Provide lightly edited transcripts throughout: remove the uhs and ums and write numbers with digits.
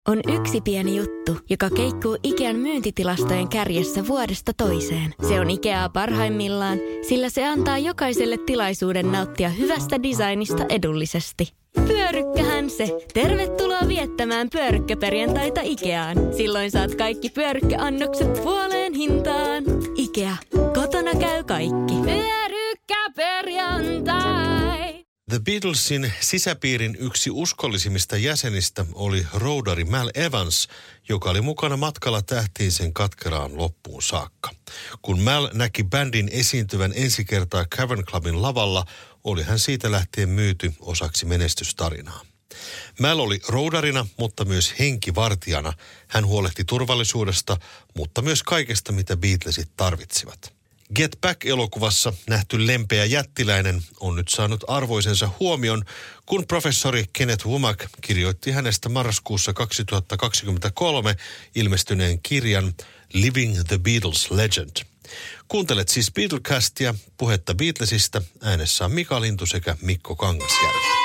On yksi pieni juttu, joka keikkuu Ikean myyntitilastojen kärjessä vuodesta toiseen. Se on Ikeaa parhaimmillaan, sillä se antaa jokaiselle tilaisuuden nauttia hyvästä designista edullisesti. Pyörykkähän se! Tervetuloa viettämään pyörykkäperjantaita Ikeaan. Silloin saat kaikki pyörykkäannokset puoleen hintaan. Ikea. Kotona käy kaikki. Pyörykkäperjantai! The Beatlesin sisäpiirin yksi uskollisimmista jäsenistä oli roudari Mal Evans, joka oli mukana matkalla tähtiin sen katkeraan loppuun saakka. Kun Mal näki bändin esiintyvän ensi kertaa Cavern Clubin lavalla, oli hän siitä lähtien myyty osaksi menestystarinaa. Mal oli roudarina, mutta myös henkivartijana. Hän huolehti turvallisuudesta, mutta myös kaikesta, mitä Beatlesit tarvitsivat. Get Back-elokuvassa nähty lempeä jättiläinen on nyt saanut arvoisensa huomion, kun professori Kenneth Womack kirjoitti hänestä marraskuussa 2023 ilmestyneen kirjan Living the Beatles Legend. Kuuntelet siis Beatlecastia, puhetta Beatlesista, äänessä on Mika Lintu sekä Mikko Kangasjärvi.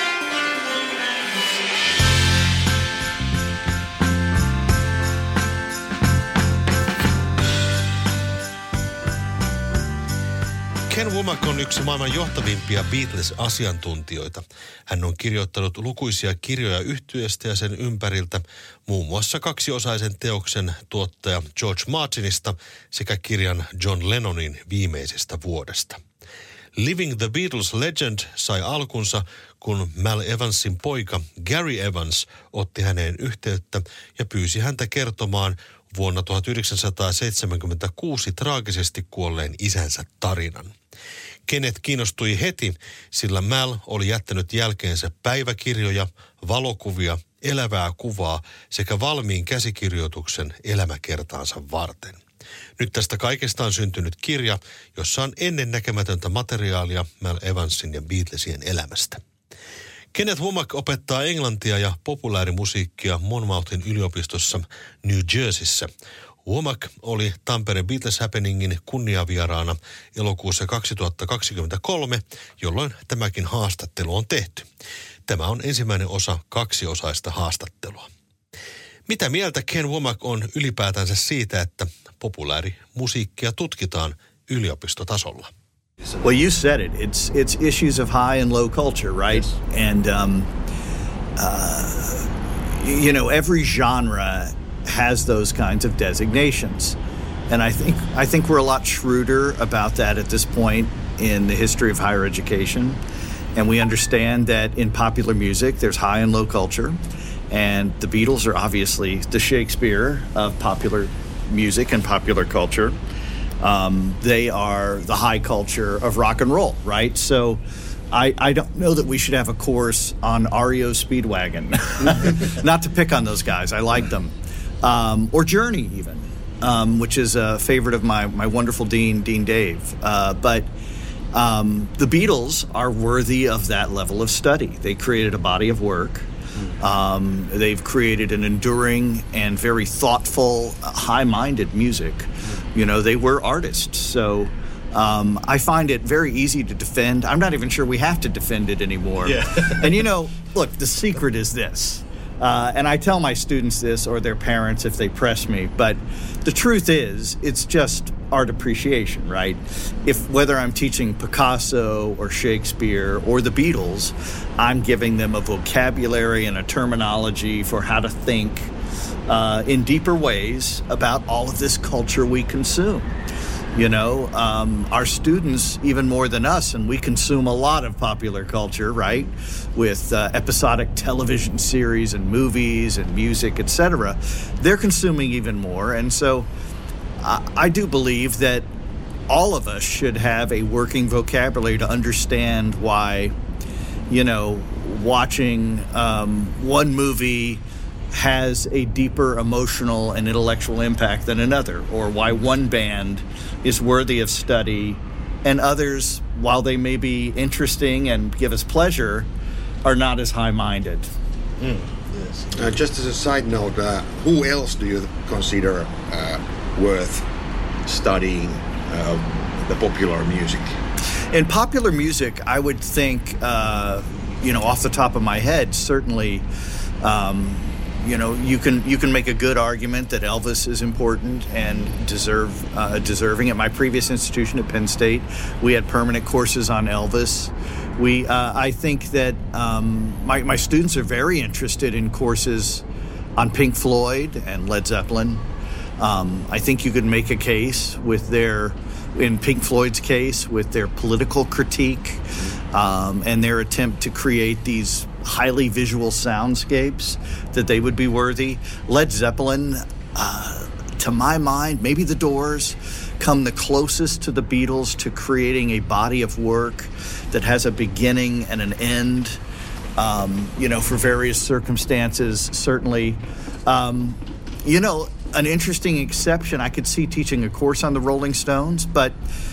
Ken Womack on yksi maailman johtavimpia Beatles-asiantuntijoita. Hän on kirjoittanut lukuisia kirjoja yhtyeestä ja sen ympäriltä, muun muassa kaksiosaisen teoksen tuottaja George Martinista sekä kirjan John Lennonin viimeisestä vuodesta. Living the Beatles Legend sai alkunsa, kun Mal Evansin poika Gary Evans otti häneen yhteyttä ja pyysi häntä kertomaan vuonna 1976 traagisesti kuolleen isänsä tarinan. Kenneth kiinnostui heti, sillä Mal oli jättänyt jälkeensä päiväkirjoja, valokuvia, elävää kuvaa sekä valmiin käsikirjoituksen elämäkertaansa varten. Nyt tästä kaikesta on syntynyt kirja, jossa on ennennäkemätöntä materiaalia Mal Evansin ja Beatlesien elämästä. Kenneth Womack opettaa englantia ja populaarimusiikkia Monmouthin yliopistossa New Jerseyssä. Womack oli Tampereen Beatles Happeningin kunniavieraana elokuussa 2023, jolloin tämäkin haastattelu on tehty. Tämä on ensimmäinen osa kaksiosaista haastattelua. Mitä mieltä Ken Womack on ylipäätänsä siitä, että populaarimusiikkia tutkitaan yliopistotasolla? Well, you said it. It's issues of high and low culture, right? Yes. And every genre has those kinds of designations, and I think we're a lot shrewder about that at this point in the history of higher education, and we understand that in popular music there's high and low culture, and the Beatles are obviously the Shakespeare of popular music and popular culture. They are the high culture of rock and roll, right? So I don't know that we should have a course on REO Speedwagon. Not to pick on those guys. I like them. Or Journey even, which is a favorite of my wonderful Dean Dave. But the Beatles are worthy of that level of study. They created a body of work. They've created an enduring and very thoughtful, high-minded music. You know, they were artists. So I find it very easy to defend. I'm not even sure we have to defend it anymore. Yeah. And, look, the secret is this. And I tell my students this or their parents if they press me. But the truth is, it's just art appreciation, right? Whether I'm teaching Picasso or Shakespeare or the Beatles, I'm giving them a vocabulary and a terminology for how to think in deeper ways about all of this culture we consume. Our students, even more than us, and we consume a lot of popular culture, right? With episodic television series and movies and music, etc. They're consuming even more. And so I do believe that all of us should have a working vocabulary to understand why, watching one movie has a deeper emotional and intellectual impact than another, or why one band is worthy of study and others, while they may be interesting and give us pleasure, are not as high-minded. Yes. Just as a side note, who else do you consider worth studying the popular music? In popular music, I would think, off the top of my head, certainly you can make a good argument that Elvis is important and deserving. At my previous institution at Penn State, we had permanent courses on Elvis. I think that my students are very interested in courses on Pink Floyd and Led Zeppelin. I think you could make a case in Pink Floyd's case, with their political critique and their attempt to create these highly visual soundscapes, that they would be worthy. Led Zeppelin, to my mind, maybe the Doors, come the closest to the Beatles to creating a body of work that has a beginning and an end, for various circumstances, certainly. An interesting exception, I could see teaching a course on the Rolling Stones, but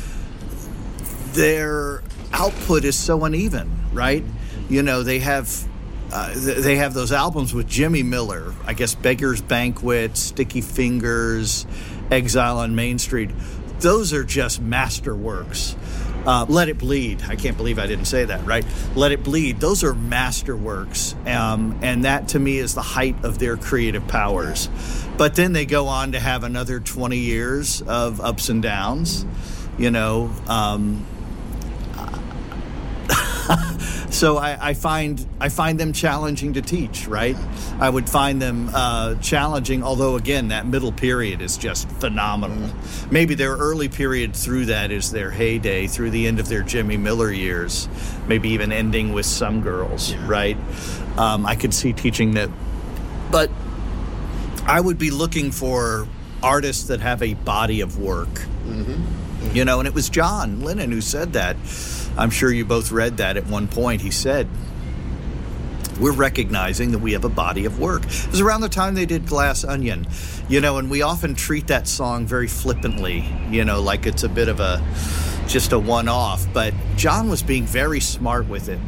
their output is so uneven, right? They have those albums with Jimmy Miller, I guess Beggar's Banquet, Sticky Fingers, Exile on Main Street. Those are just masterworks. Let It Bleed. I can't believe I didn't say that, right? Let It Bleed. Those are masterworks. And that, to me, is the height of their creative powers. But then they go on to have another 20 years of ups and downs, So I find them challenging to teach, right? I would find them challenging, although, again, that middle period is just phenomenal. Maybe their early period through that is their heyday, through the end of their Jimmy Miller years, maybe even ending with Some Girls, right? I could see teaching that. But I would be looking for artists that have a body of work. And it was John Lennon who said that. I'm sure you both read that at one point. He said, we're recognizing that we have a body of work. It was around the time they did Glass Onion, and we often treat that song very flippantly, like it's a bit of just a one-off. But John was being very smart with it,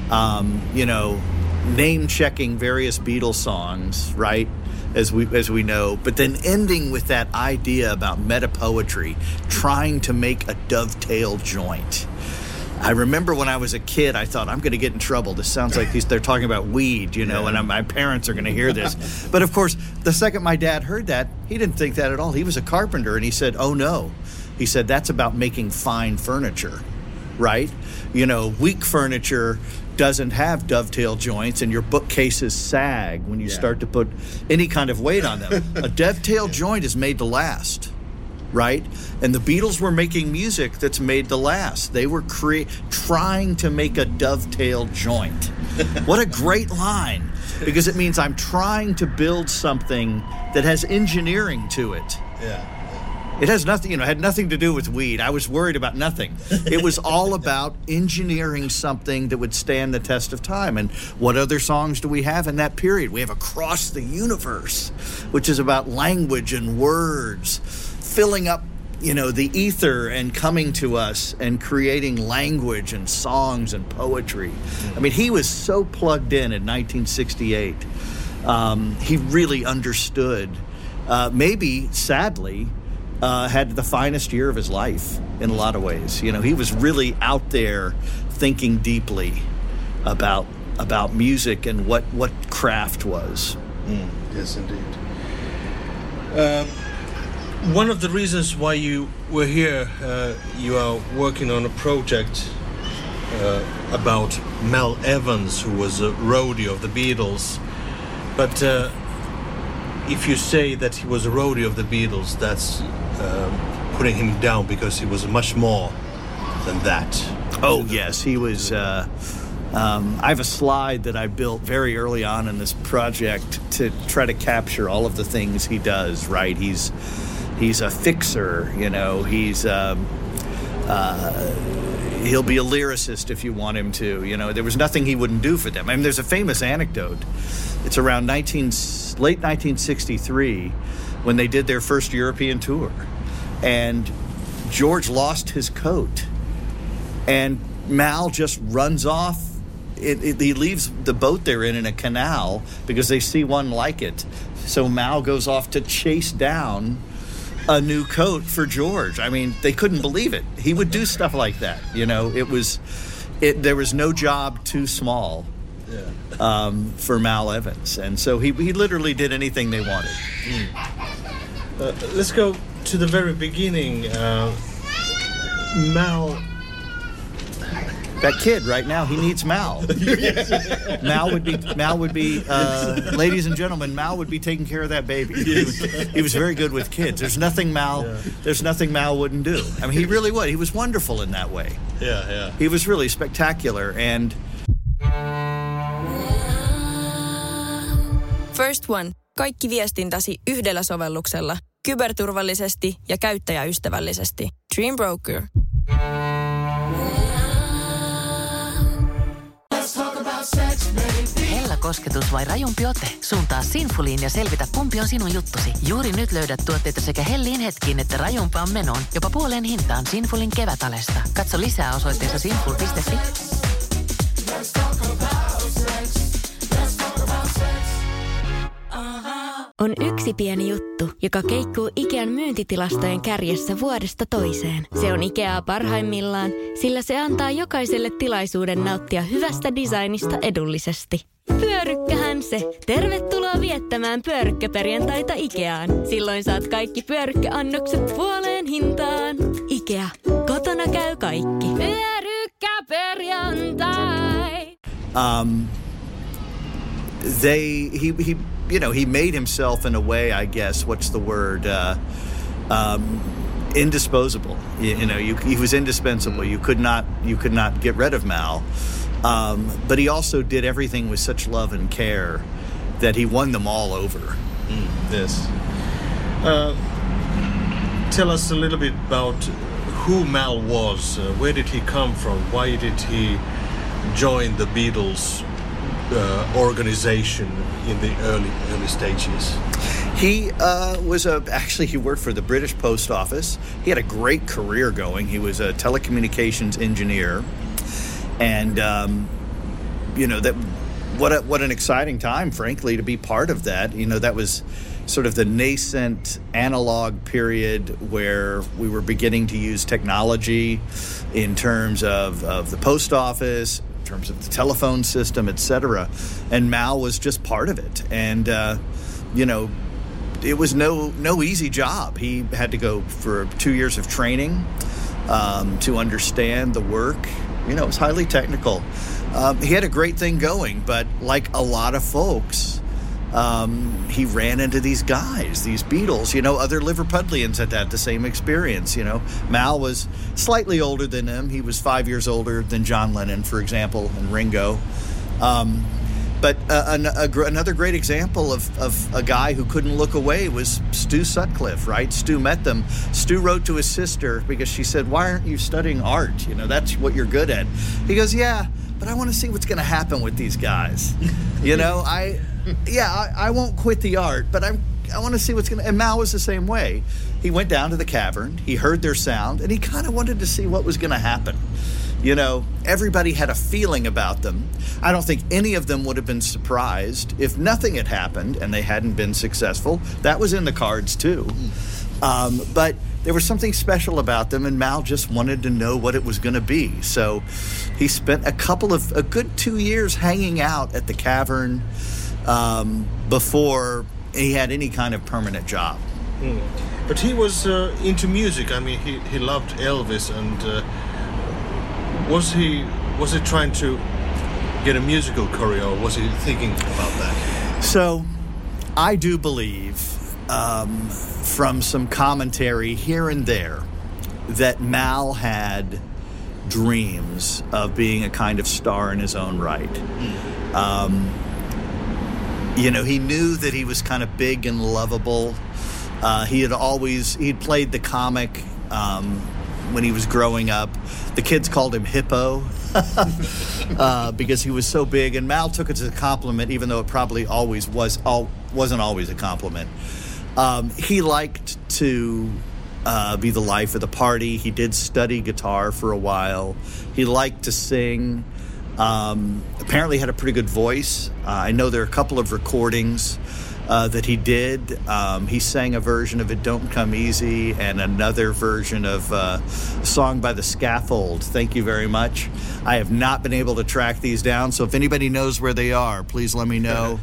name-checking various Beatles songs, right? As we know, but then ending with that idea about meta-poetry, trying to make a dovetail joint. I remember when I was a kid, I thought, I'm going to get in trouble. This sounds like they're talking about weed, and my parents are going to hear this. But, of course, the second my dad heard that, he didn't think that at all. He was a carpenter, and he said, oh, no. He said, that's about making fine furniture, right? Weak furniture doesn't have dovetail joints, and your bookcases sag when you start to put any kind of weight on them. A dovetail joint is made to last, right? And the Beatles were making music that's made to last. They were trying to make a dovetail joint. What a great line, because it means I'm trying to build something that has engineering to it. It has nothing, had nothing to do with weed. I was worried about nothing. It was all about engineering something that would stand the test of time. And what other songs do we have in that period? We have Across the Universe, which is about language and words, filling up, the ether and coming to us and creating language and songs and poetry. I mean, he was so plugged in 1968. He really understood, maybe, sadly, had the finest year of his life in a lot of ways. He was really out there thinking deeply about music and what craft was. Yes, indeed. One of the reasons why you were here, you are working on a project about Mal Evans, who was a roadie of the Beatles. But if you say that he was a roadie of the Beatles, that's putting him down, because he was much more than that. Oh, yes, he was. I have a slide that I built very early on in this project to try to capture all of the things he does, right? He's a fixer, he's he'll be a lyricist if you want him to. There was nothing he wouldn't do for them. I mean, there's a famous anecdote. It's around late 1963 when they did their first European tour. And George lost his coat. And Mal just runs off. He leaves the boat they're in a canal because they see one like it. So Mal goes off to chase down a new coat for George. I mean, they couldn't believe it. He would do stuff like that. There was no job too small for Mal Evans. And so he literally did anything they wanted. Let's go to the very beginning. Mal... That kid right now, he needs Mal. Mal would be, ladies and gentlemen, Mal would be taking care of that baby. He was very good with kids. There's nothing Mal wouldn't do. I mean, he really would. He was wonderful in that way. Yeah. He was really spectacular. And First One. Kaikki viestintäsi yhdellä sovelluksella. Kyberturvallisesti ja käyttäjäystävällisesti. Dream Broker. Hellä kosketus vai rajumpi ote? Suuntaa Sinfuliin ja selvitä, kumpi on sinun juttusi. Juuri nyt löydät tuotteita sekä helliin hetkiin että rajumpaan menoon. Jopa puoleen hintaan Sinfulin kevätalesta. Katso lisää osoitteessa sinful.fi. On yksi pieni juttu, joka keikkuu Ikean myyntitilastojen kärjessä vuodesta toiseen. Se on Ikeaa parhaimmillaan, sillä se antaa jokaiselle tilaisuuden nauttia hyvästä designista edullisesti. Pyörykkähän se! Tervetuloa viettämään pyörykkäperjantaita Ikeaan. Silloin saat kaikki pyörykkäannokset puoleen hintaan. Ikea. Kotona käy kaikki. Pyörykkäperjantai! He made himself in a way, I guess, what's the word, indisposable. He was indispensable. You could not get rid of Mal. But he also did everything with such love and care that he won them all over. Yes. Tell us a little bit about who Mal was. Where did he come from? Why did he join the Beatles organization in the early stages? He he worked for the British Post Office. He had a great career going. He was a telecommunications engineer, and what an exciting time, frankly, to be part of that. That was sort of the nascent analog period where we were beginning to use technology in terms of the post office, in terms of the telephone system, etc. And Mal was just part of it. And, it was no easy job. He had to go for 2 years of training to understand the work. It was highly technical. He had a great thing going, but like a lot of folks, he ran into these guys, these Beatles. Other Liverpudlians had the same experience. Mal was slightly older than him. He was 5 years older than John Lennon, for example, and Ringo. But another great example of a guy who couldn't look away was Stu Sutcliffe, right? Stu met them. Stu wrote to his sister because she said, "Why aren't you studying art? That's what you're good at." He goes, "Yeah, but I want to see what's going to happen with these guys. I won't quit the art, but I want to see what's going to..." And Mal was the same way. He went down to the cavern, he heard their sound, and he kind of wanted to see what was going to happen. Everybody had a feeling about them. I don't think any of them would have been surprised if nothing had happened and they hadn't been successful. That was in the cards too. But there was something special about them, and Mal just wanted to know what it was going to be. So he spent a good 2 years hanging out at the cavern before he had any kind of permanent job. But he was into music. I mean, he loved Elvis, and was he trying to get a musical career, or was he thinking about that? So I do believe from some commentary here and there that Mal had dreams of being a kind of star in his own right. He knew that he was kind of big and lovable. He'd played the comic when he was growing up. The kids called him Hippo because he was so big, and Mal took it as a compliment, even though it probably wasn't always a compliment. He liked to be the life of the party. He did study guitar for a while. He liked to sing. Apparently had a pretty good voice. I know there are a couple of recordings that he did. He sang a version of It Don't Come Easy and another version of a song by The Scaffold. Thank you very much. I have not been able to track these down, so if anybody knows where they are, please let me know.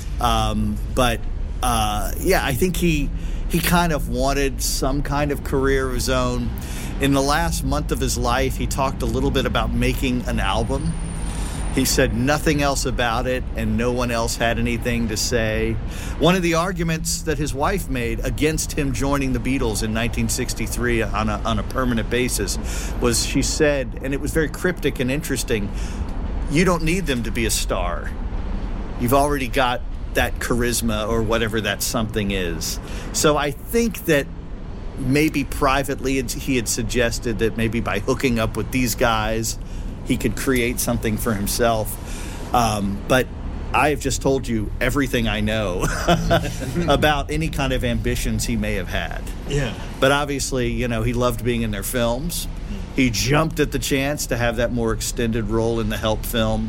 I think he kind of wanted some kind of career of his own. In the last month of his life, he talked a little bit about making an album. He said nothing else about it, and no one else had anything to say. One of the arguments that his wife made against him joining the Beatles in 1963 on a permanent basis was, she said, and it was very cryptic and interesting, you don't need them to be a star. You've already got that charisma or whatever that something is. So I think that maybe privately he had suggested that maybe by hooking up with these guys, he could create something for himself. But I have just told you everything I know about any kind of ambitions he may have had. Yeah. But obviously, he loved being in their films. He jumped at the chance to have that more extended role in the Help film.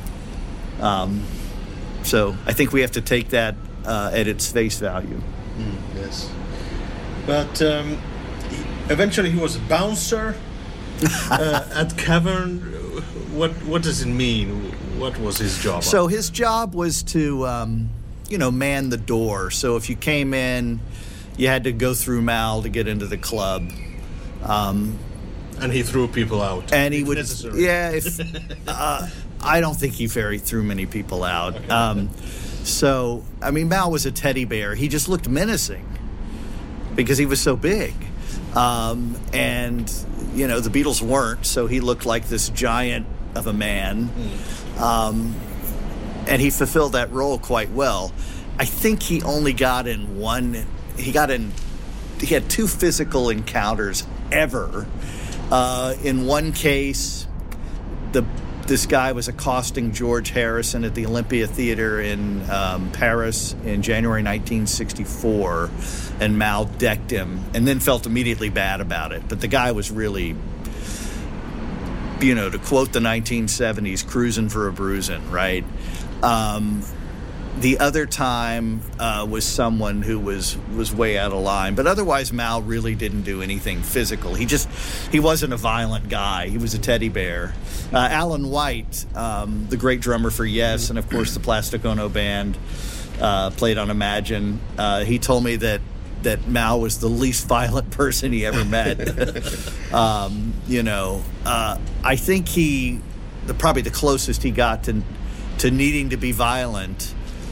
So I think we have to take that at its face value. Yes. But eventually he was a bouncer at Cavern. What does it mean? What was his job? So his job was to, man the door. So if you came in, you had to go through Mal to get into the club. And he threw people out. And he would, necessary. Yeah. I don't think he threw many people out. Okay. Mal was a teddy bear. He just looked menacing because he was so big. And the Beatles weren't, so he looked like this giant of a man. And he fulfilled that role quite well. I think he only got in one. He had 2 physical encounters ever. In one case, this guy was accosting George Harrison at the Olympia Theater in Paris in January 1964, and Mal decked him and then felt immediately bad about it. But the guy was really, to quote the 1970s, cruising for a bruising, right? The other time was someone who was way out of line. But otherwise, Mal really didn't do anything physical. He wasn't a violent guy. He was a teddy bear. Alan White, the great drummer for Yes, and of course the Plastic Ono Band, played on Imagine. He told me that Mal was the least violent person he ever met. I think probably the closest he got to needing to be violent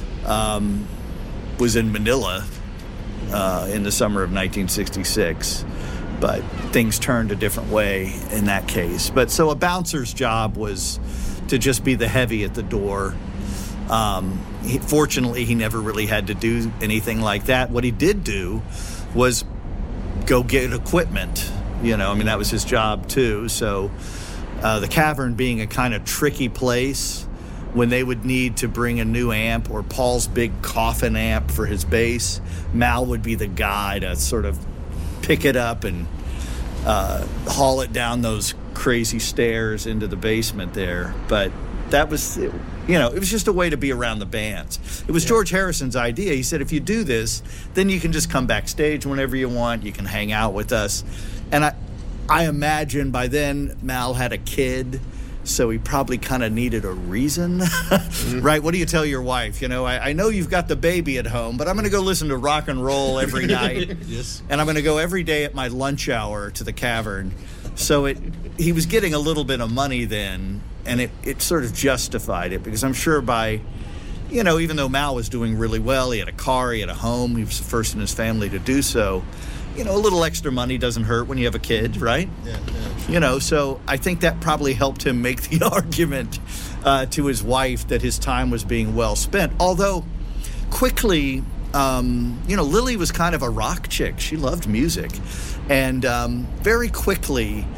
was in Manila in the summer of 1966, but things turned a different way in that case. But so a bouncer's job was to just be the heavy at the door. Fortunately, he never really had to do anything like that. What he did do was go get equipment. That was his job too. So the Cavern being a kind of tricky place, when they would need to bring a new amp or Paul's big coffin amp for his bass, Mal would be the guy to sort of pick it up and haul it down those crazy stairs into the basement there. But that was, it was just a way to be around the bands. It was George Harrison's idea. He said, if you do this, then you can just come backstage whenever you want. You can hang out with us. And I imagine by then Mal had a kid, so he probably kind of needed a reason, right? What do you tell your wife? I know you've got the baby at home, but I'm going to go listen to rock and roll every night. Yes. And I'm going to go every day at my lunch hour to the Cavern. So he was getting a little bit of money then, and it sort of justified it, because I'm sure by, even though Mal was doing really well, he had a car, he had a home, he was the first in his family to do so. A little extra money doesn't hurt when you have a kid, right? Yeah. So I think that probably helped him make the argument to his wife that his time was being well spent. Although, quickly, Lily was kind of a rock chick. She loved music. And very quickly,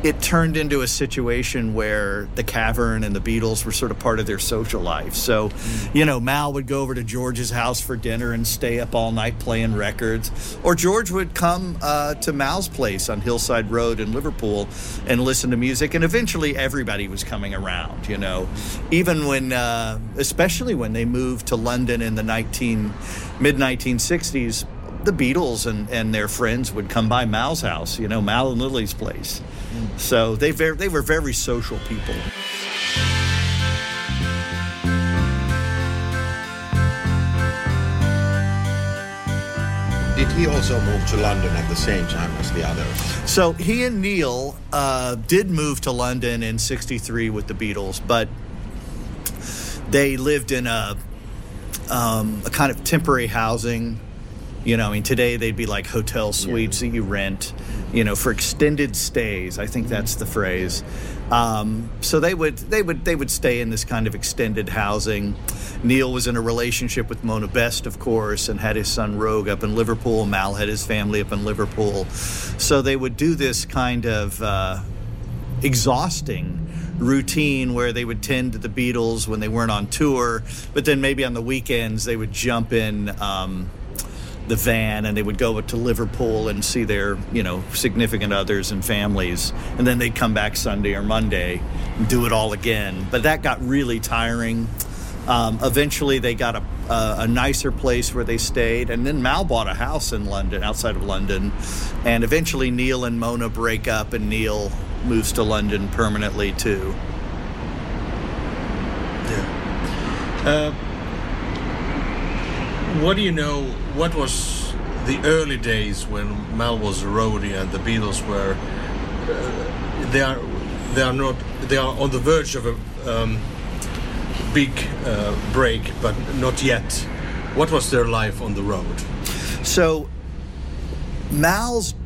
it turned into a situation where the Cavern and the Beatles were sort of part of their social life. So, Mal would go over to George's house for dinner and stay up all night playing records. Or George would come to Mal's place on Hillside Road in Liverpool and listen to music. And eventually everybody was coming around, Even when, especially when they moved to London in the mid-1960s, the Beatles and their friends would come by Mal's house, Mal and Lily's place. So they were very social people. Did he also move to London at the same time as the others? So he and Neil did move to London in '63 with the Beatles, but they lived in a kind of temporary housing. Today they'd be like hotel suites that you rent, for extended stays. I think that's the phrase. So they would stay in this kind of extended housing. Neil was in a relationship with Mona Best, of course, and had his son Rogue up in Liverpool. Mal had his family up in Liverpool. So they would do this kind of exhausting routine where they would tend to the Beatles when they weren't on tour, but then maybe on the weekends they would jump in the van and they would go to Liverpool and see their, significant others and families. And then they'd come back Sunday or Monday and do it all again. But that got really tiring. Eventually they got a nicer place where they stayed. And then Mal bought a house in London, outside of London. And eventually Neil and Mona break up and Neil moves to London permanently too. Yeah. What do you know? What was the early days when Mal was a roadie and the Beatles were? They are on the verge of a big break, but not yet. What was their life on the road? So Mal's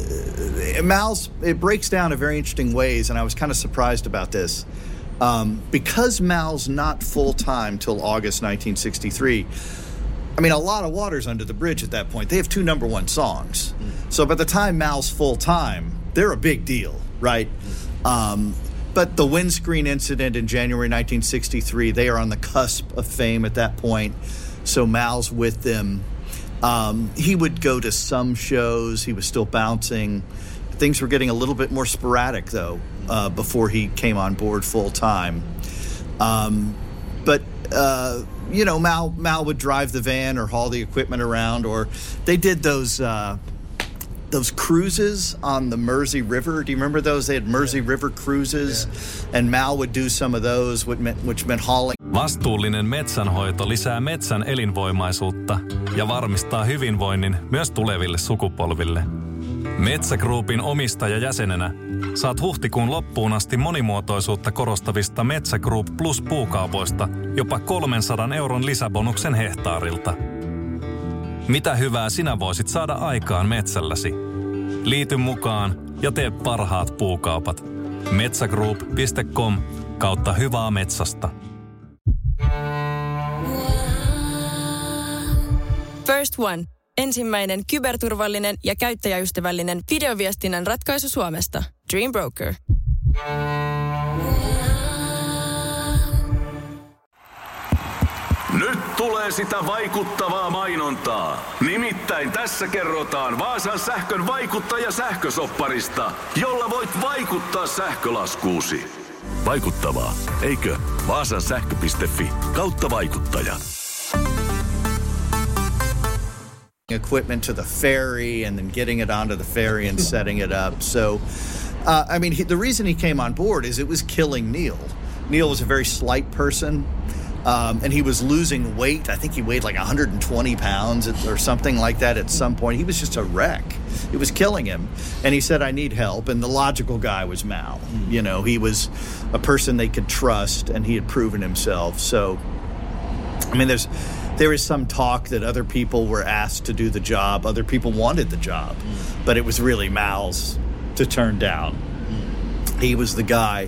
it breaks down in very interesting ways, and I was kind of surprised about this. Because Mal's not full-time till August 1963, I mean, a lot of water's under the bridge at that point. They have 2 number 1 songs. So by the time Mal's full-time, they're a big deal, right? But the windscreen incident in January 1963, they are on the cusp of fame at that point. So Mal's with them. He would go to some shows. He was still bouncing. Things were getting a little bit more sporadic, though, before he came on board full-time. But Mal would drive the van or haul the equipment around, or they did those cruises on the Mersey River. Do you remember those? They had Mersey River cruises, and Mal would do some of those, which meant hauling. Vastuullinen metsänhoito lisää metsän elinvoimaisuutta ja varmistaa hyvinvoinnin myös tuleville sukupolville. Metsä Groupin omistajajäsenenä saat huhtikuun loppuun asti monimuotoisuutta korostavista Metsä Group Plus puukaupoista jopa 300 € lisäbonuksen hehtaarilta. Mitä hyvää sinä voisit saada aikaan metsälläsi? Liity mukaan ja tee parhaat puukaupat. metsägroup.com/hyvää metsästä. First One. Ensimmäinen kyberturvallinen ja käyttäjäystävällinen videoviestinnän ratkaisu Suomesta. Dream Broker. Nyt tulee sitä vaikuttavaa mainontaa. Nimittäin tässä kerrotaan Vaasan sähkön vaikuttaja-sähkösopparista, jolla voit vaikuttaa sähkölaskuusi. Vaikuttavaa, eikö? Vaasansähkö.fi/vaikuttaja. Equipment to the ferry and then getting it onto the ferry and setting it up. So, the reason he came on board is it was killing Neil. Neil was a very slight person, and he was losing weight. I think he weighed like 120 pounds or something like that at some point. He was just a wreck. It was killing him. And he said, I need help. And the logical guy was Mal. He was a person they could trust, and he had proven himself. So, there is some talk that other people were asked to do the job. Other people wanted the job, but it was really Mal's to turn down. He was the guy.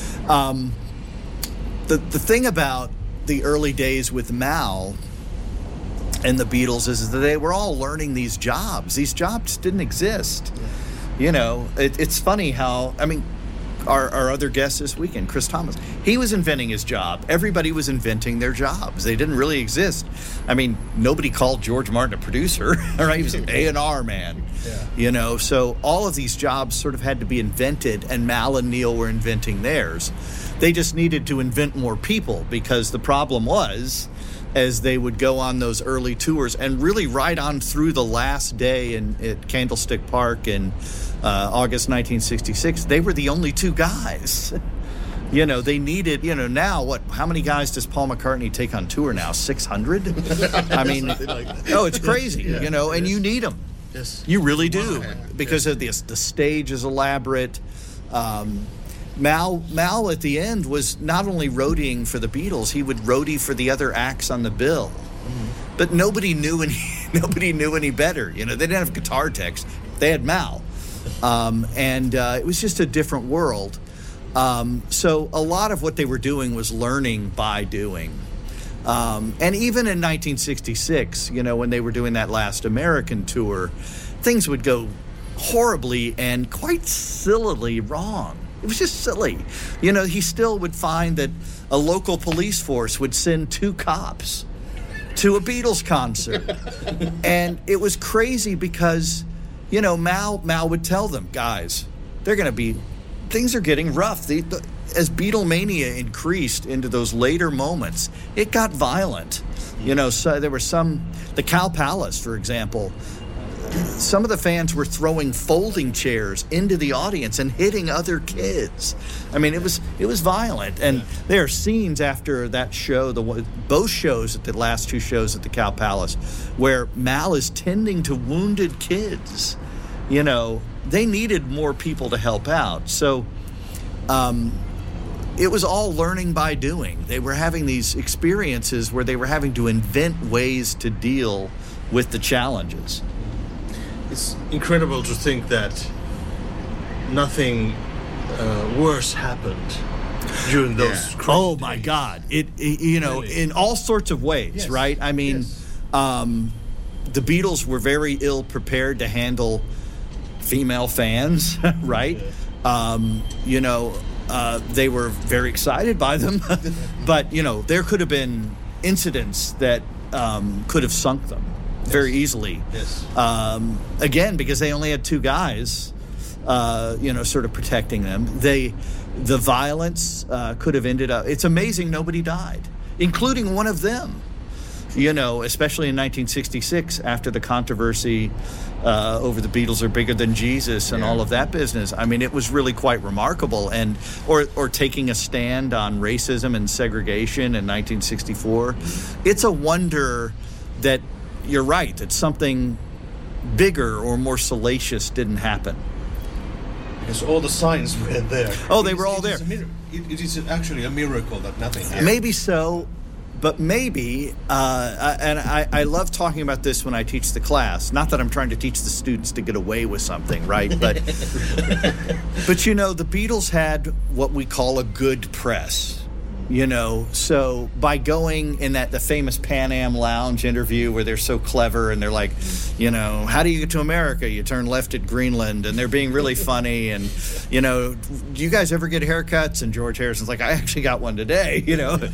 The thing about the early days with Mal and the Beatles is that they were all learning these jobs. These jobs didn't exist. It's funny how, our other guest this weekend, Chris Thomas, he was inventing his job. Everybody was inventing their jobs. They didn't really exist. I mean, nobody called George Martin a producer, right? He was an A&R man, so all of these jobs sort of had to be invented, and Mal and Neil were inventing theirs. They just needed to invent more people, because the problem was, as they would go on those early tours and really right on through the last day at Candlestick Park in August 1966, they were the only two guys. They needed, now how many guys does Paul McCartney take on tour now? 600? I mean, it's crazy, and you need them. Yes. You really do, because of the stage is elaborate. Mal at the end was not only roadieing for the Beatles, he would roadie for the other acts on the bill. Mm-hmm. But nobody knew any better. They didn't have guitar techs. They had Mal. It was just a different world. So a lot of what they were doing was learning by doing. And even in 1966, when they were doing that last American tour, things would go horribly and quite sillily wrong. It was just silly. He still would find that a local police force would send 2 cops to a Beatles concert. And it was crazy because, Mal would tell them, guys, things are getting rough. As Beatlemania increased into those later moments, it got violent. So there were the Cow Palace, for example, some of the fans were throwing folding chairs into the audience and hitting other kids. I mean, it was violent. And there are scenes after that show, both shows, at the last 2 shows at the Cow Palace, where Mal is tending to wounded kids. They needed more people to help out. So it was all learning by doing. They were having these experiences where they were having to invent ways to deal with the challenges. It's incredible to think that nothing worse happened during those. Oh my God! It really? In all sorts of ways, right? I mean, the Beatles were very ill prepared to handle female fans, right? They were very excited by them, but there could have been incidents that could have sunk them very easily. Yes. Again, because they only had 2 guys, sort of protecting them. The violence could have ended up. It's amazing nobody died, including one of them. Especially in 1966 after the controversy over the Beatles are bigger than Jesus and all of that business. I mean, it was really quite remarkable. And or taking a stand on racism and segregation in 1964. It's a wonder that you're right, that something bigger or more salacious didn't happen. Because all the signs were there. Oh, they were all there. It is actually a miracle that nothing happened. Maybe so. But maybe, I love talking about this when I teach the class. Not that I'm trying to teach the students to get away with something, right? But, but the Beatles had what we call a good press. So by going in the famous Pan Am Lounge interview where they're so clever and they're like, how do you get to America? You turn left at Greenland, and they're being really funny. And, do you guys ever get haircuts? And George Harrison's like, I actually got one today,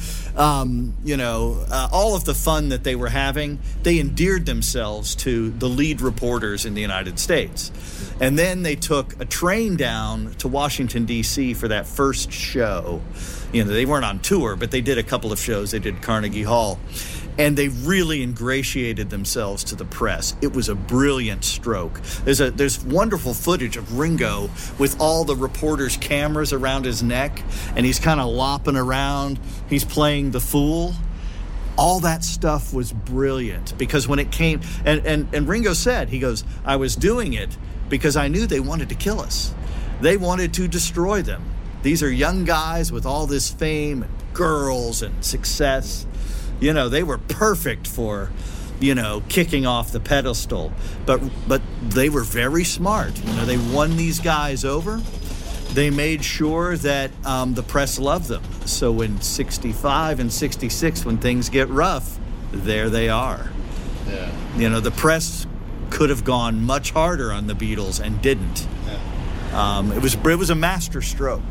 all of the fun that they were having, they endeared themselves to the lead reporters in the United States. And then they took a train down to Washington, D.C. for that first show. They weren't on tour, but they did a couple of shows. They did Carnegie Hall. And they really ingratiated themselves to the press. It was a brilliant stroke. There's wonderful footage of Ringo with all the reporters' cameras around his neck, and he's kind of lopping around. He's playing the fool. All that stuff was brilliant because when it came, and Ringo said, he goes, I was doing it because I knew they wanted to kill us. They wanted to destroy them. These are young guys with all this fame and girls and success. They were perfect for, kicking off the pedestal. But they were very smart. They won these guys over. They made sure that the press loved them. So in 65 and 66, when things get rough, there they are. Yeah. The press could have gone much harder on the Beatles and didn't. Yeah. It was a master stroke.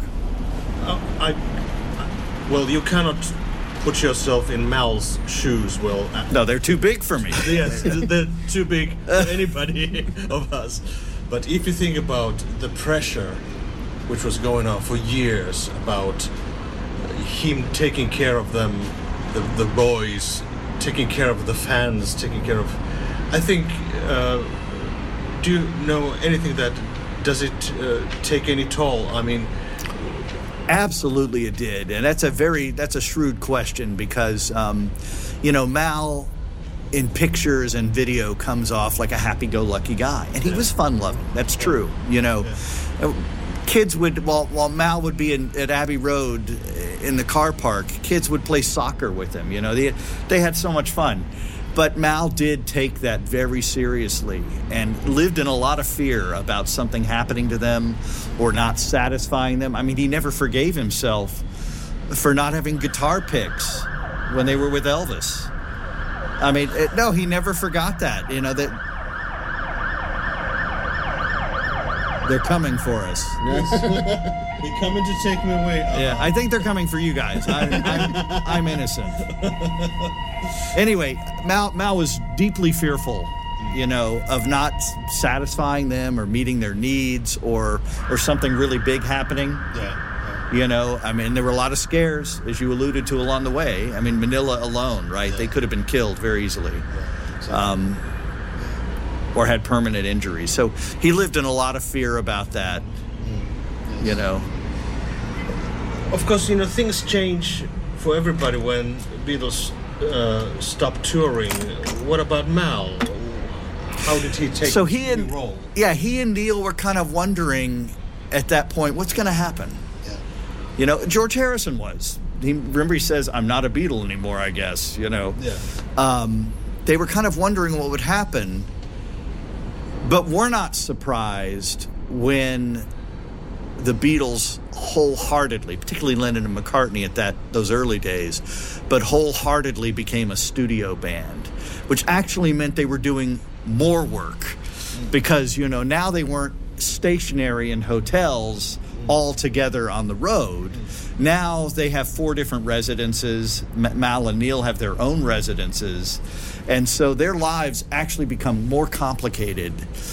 Well, you cannot put yourself in Mal's shoes. Well, no, they're too big for me. Yes, they're too big for anybody of us. But if you think about the pressure which was going on for years about him taking care of them, the boys, taking care of the fans, taking care of... I think, do you know anything that... Does it take any toll? I mean... Absolutely it did. And that's a shrewd question because, Mal in pictures and video comes off like a happy-go-lucky guy. And he was fun-loving. That's true. Kids would, while Mal would be at Abbey Road in the car park, kids would play soccer with him. They had so much fun. But Mal did take that very seriously and lived in a lot of fear about something happening to them or not satisfying them. I mean, he never forgave himself for not having guitar picks when they were with Elvis. I mean, no, he never forgot that. That they're coming for us. Yes. They're coming to take me away. Yeah, I think they're coming for you guys. I'm innocent. Anyway, Mal was deeply fearful, of not satisfying them or meeting their needs or something really big happening. Yeah. I mean, there were a lot of scares, as you alluded to along the way. I mean, Manila alone, right? Yeah. They could have been killed very easily. Yeah, exactly. Or had permanent injuries. So he lived in a lot of fear about that, Yes. Of course, things change for everybody when Beatles stopped touring. What about Mal? How did he take the role? Yeah, he and Neil were kind of wondering at that point, what's going to happen? Yeah. George Harrison was. He says, I'm not a Beatle anymore, I guess, Yeah. They were kind of wondering what would happen. But we're not surprised when the Beatles wholeheartedly, particularly Lennon and McCartney at those early days, but wholeheartedly became a studio band, which actually meant they were doing more work because, now they weren't stationary in hotels all together on the road. Now they have 4 different residences. Mal and Neil have their own residences. And so their lives actually become more complicated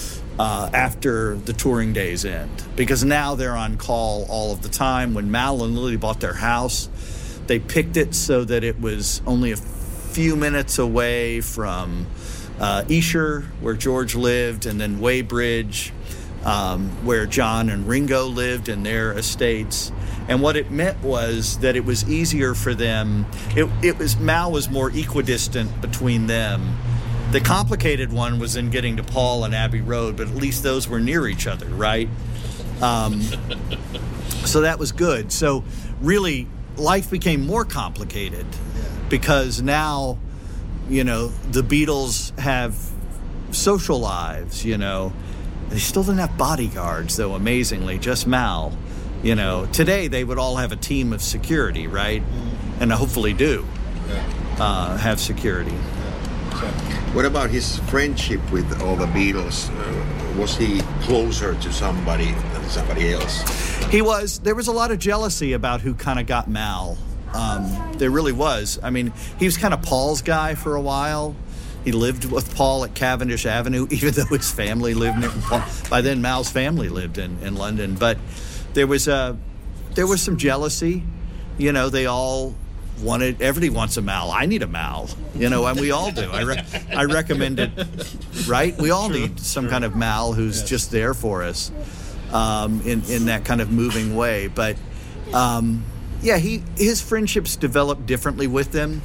after the touring days end because now they're on call all of the time. When Mal and Lily bought their house, they picked it so that it was only a few minutes away from Esher, where George lived, and then Weybridge, where John and Ringo lived in their estates. And what it meant was that it was easier for them. Mal was more equidistant between them. The complicated one was in getting to Paul and Abbey Road, but at least those were near each other, right? So that was good. So really, life became more complicated because now, the Beatles have social lives, They still didn't have bodyguards, though, amazingly, just Mal. Today they would all have a team of security, right? And hopefully do have security. What about his friendship with all the Beatles? Was he closer to somebody than somebody else? He was. There was a lot of jealousy about who kind of got Mal. There really was. I mean, he was kind of Paul's guy for a while. He lived with Paul at Cavendish Avenue, even though his family lived near Paul. By then, Mal's family lived in London. But there was some jealousy. They all wanted. Everybody wants a Mal. I need a Mal. And we all do. I recommend it. Right? We all need some kind of Mal who's just there for us, in that kind of moving way. But his friendships developed differently with them.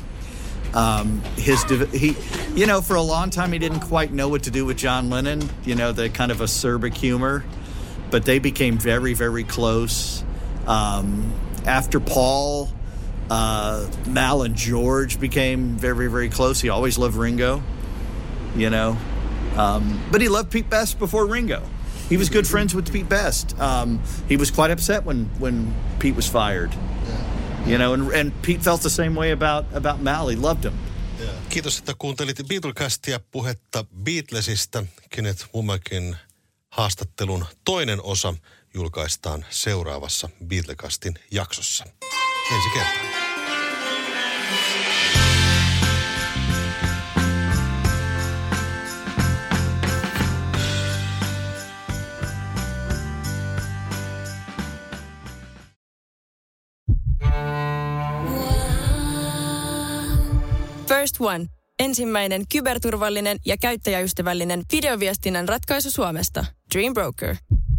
For a long time he didn't quite know what to do with John Lennon, the kind of acerbic humor, but they became very, very close. After Paul, Mal and George became very, very close. He always loved Ringo, but he loved Pete Best before Ringo. He was good friends with Pete Best. He was quite upset when Pete was fired. And Pete felt the same way about Mal. He loved him. Kiitos, että kuuntelit Beatlecastia, puhetta Beatlesista. Kenneth Womakin haastattelun toinen osa julkaistaan seuraavassa Beatlecastin jaksossa. Ensi kertaan. First One. Ensimmäinen kyberturvallinen ja käyttäjäystävällinen videoviestinnän ratkaisu Suomesta. Dream Broker.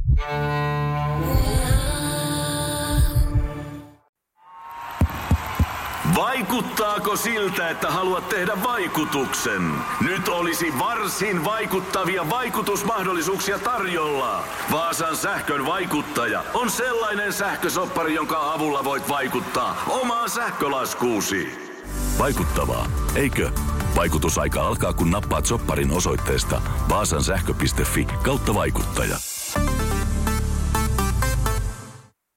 Vaikuttaako siltä, että haluat tehdä vaikutuksen? Nyt olisi varsin vaikuttavia vaikutusmahdollisuuksia tarjolla. Vaasan sähkön vaikuttaja on sellainen sähkösoppari, jonka avulla voit vaikuttaa omaan sähkölaskuusi. Vaikuttavaa, eikö? Vaikutusaika alkaa, kun nappaat sopparin osoitteesta vaasansähkö.fi/vaikuttaja.